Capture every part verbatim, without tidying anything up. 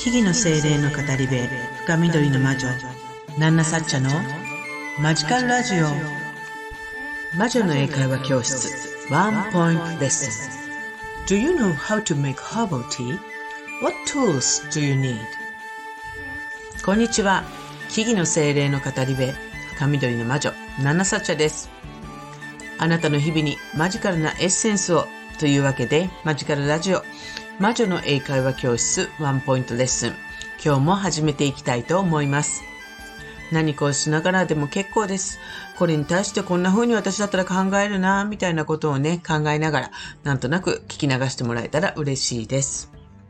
木々の精霊の語り部、深緑の魔女、ナンナサッチャのマジカルラジオ。魔女の英会話教室、ワンポイントレッスン。Do you know how to make herbal tea? What tools do you need? こんにちは。木々の精霊の語り部、深緑の魔女、ナンナサッチャです。あなたの日々にマジカルなエッセンスをというわけで、マジカルラジオ、魔女の英会話教室ワンポイントレッスン。今日も始めていきたいと思います。何かをしながらでも結構です。これに対してこんな風に私だったら考えるな、みたいなことをね、考えながら、なんとなく聞き流してもらえたら嬉しいです。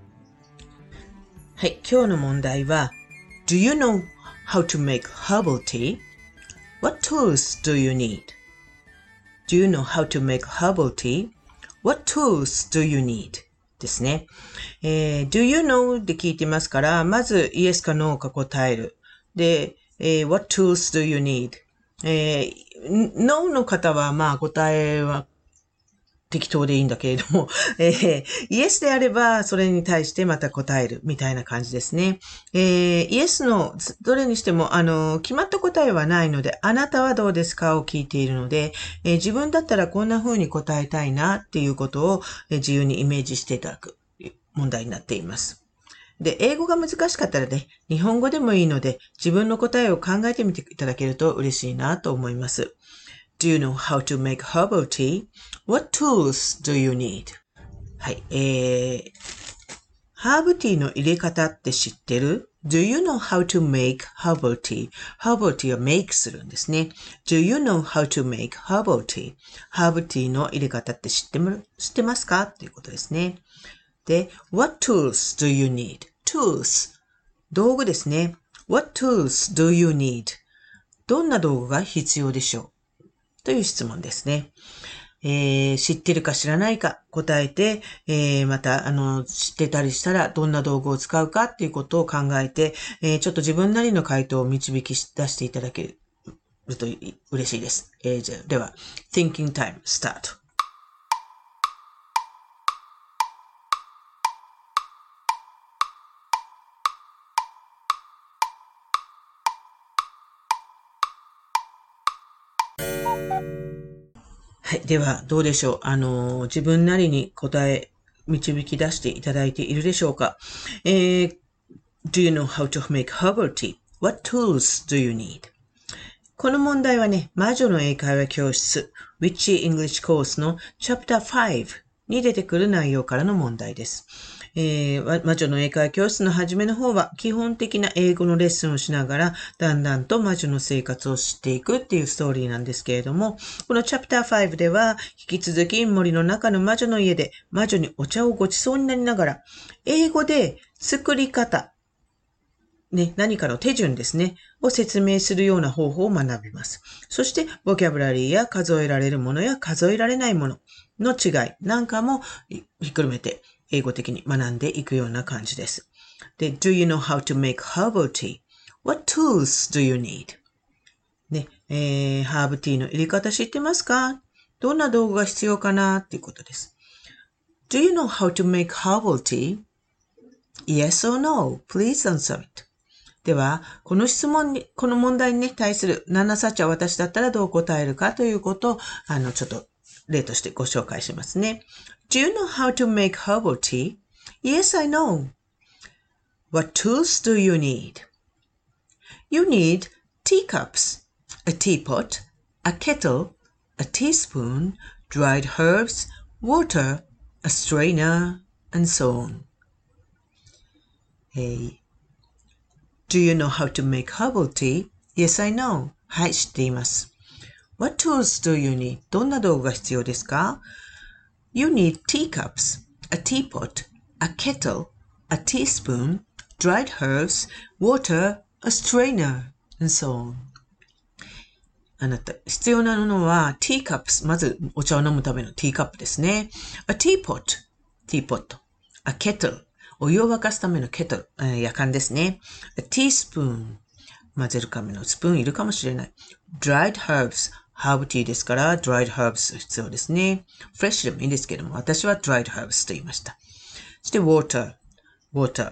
はい、今日の問題は、Do you know how to make herbal tea? What tools do you need?Do you know how to make herbal tea? What tools do you need? ですね。えー、do you know で聞いてますから、まず yes か no か答える。で、えー、what tools do you need? えー、no の方はまあ答えは適当でいいんだけれども、えー、Yes であれば、それに対してまた答えるみたいな感じですね。えー、Yes のどれにしても、あの、決まった答えはないので、あなたはどうですかを聞いているので、えー、自分だったらこんな風に答えたいなっていうことを、えー、自由にイメージしていただく問題になっています。で、英語が難しかったらね、日本語でもいいので、自分の答えを考えてみていただけると嬉しいなと思います。Do you know how to make herbal tea? What tools do you need? はい。えー、ハーブティーの入れ方って知ってる？ Do you know how to make herbal tea? Herbal tea は make するんですね。Do you know how to make herbal tea? ハーブティーの入れ方って知ってる？知ってますか？っていうことですね。で、What tools do you need? Tools。道具ですね。What tools do you need? どんな道具が必要でしょう？という質問ですね。えー、知ってるか知らないか答えて、えー、また、あの、知ってたりしたらどんな道具を使うかっていうことを考えて、えー、ちょっと自分なりの回答を導き出していただけると嬉しいです。えー、じゃあでは、Thinking Time Start。はい。では、どうでしょう。あの、自分なりに答え、導き出していただいているでしょうか。えー、Do you know how to make herbal tea? What tools do you need? この問題はね、魔女の英会話教室 Witchy English Course の Chapter ファイブに出てくる内容からの問題です。えー、魔女の英会話教室の初めの方は基本的な英語のレッスンをしながらだんだんと魔女の生活を知っていくっていうストーリーなんですけれども、このチャプターファイブでは引き続き森の中の魔女の家で魔女にお茶をごちそうになりながら英語で作り方、ね、何かの手順ですね、を説明するような方法を学びます。そしてボキャブラリーや数えられるものや数えられないものの違いなんかもひっくるめて英語的に学んでいくような感じです。で、Do you know how to make herbal tea? What tools do you need? ね、えー、ハーブティーの入れ方知ってますか？どんな道具が必要かなっていうことです。Do you know how to make herbal tea? Yes or no? Please answer it. では、この質問に、この問題に、ね、対するナンナサッチャは私だったらどう答えるかということを、あの、ちょっと例としてご紹介しますね。Do you know how to make herbal tea? Yes, I know. What tools do you need? You need teacups, a teapot, a kettle, a teaspoon, dried herbs, water, a strainer, and so on. Hey, do you know how to make herbal tea? Yes, I know. はい、知っています。What tools do you need? どんな道具が必要ですか？ You need teacups, a teapot, a kettle, a teaspoon, dried herbs, water, a strainer, and so on. あなた、必要なのは teacups、まずお茶を飲むためのティーカップですね。A teapot、ティーポット。A kettle、お湯を沸かすためのケトル、えー、やかんですね。A teaspoon、混ぜるためのスプーンいるかもしれない。Dried herbs、ハーブティーですから、dried herbs 必要ですね。フレッシュでもいいですけども、私は dried herbs と言いました。そして water、water、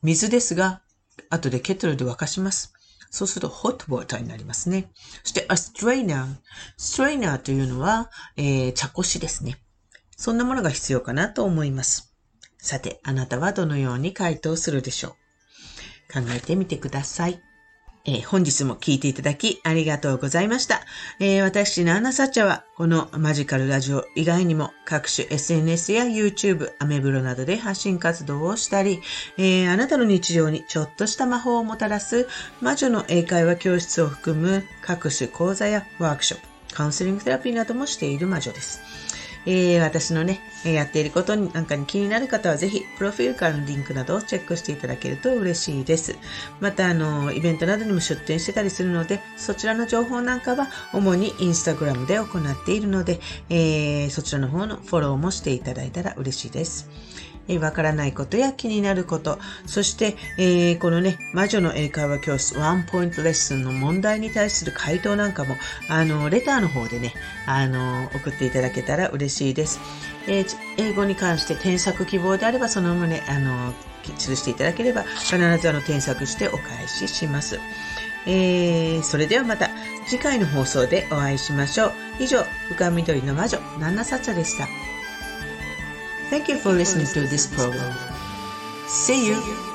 水ですが、後でケトルで沸かします。そうすると hot water になりますね。そして a strainer。strainer というのは、えー、茶こしですね。そんなものが必要かなと思います。さて、あなたはどのように回答するでしょう？考えてみてください。えー、本日も聞いていただきありがとうございました。えー、私、ナーナサッチャはこのマジカルラジオ以外にも各種 エスエヌエス や YouTube、アメブロなどで発信活動をしたり、えー、あなたの日常にちょっとした魔法をもたらす魔女の英会話教室を含む各種講座やワークショップ、カウンセリングセラピーなどもしている魔女です。えー、私のね、やっていることになんかに気になる方はぜひ、プロフィールからのリンクなどをチェックしていただけると嬉しいです。また、あの、イベントなどにも出展してたりするので、そちらの情報なんかは主にインスタグラムで行っているので、えー、そちらの方のフォローもしていただいたら嬉しいです。えー、わからないことや気になること、そして、えー、このね、魔女の英会話教室ワンポイントレッスンの問題に対する回答なんかも、あの、レターの方でね、あの、送っていただけたら嬉しいです。えー、英語に関して添削希望であれば、その旨、あの、記していただければ、必ずあの、添削してお返しします。えー、それではまた次回の放送でお会いしましょう。以上、深緑の魔女、ナンナサッチャでした。Thank you for listening to this program. See you!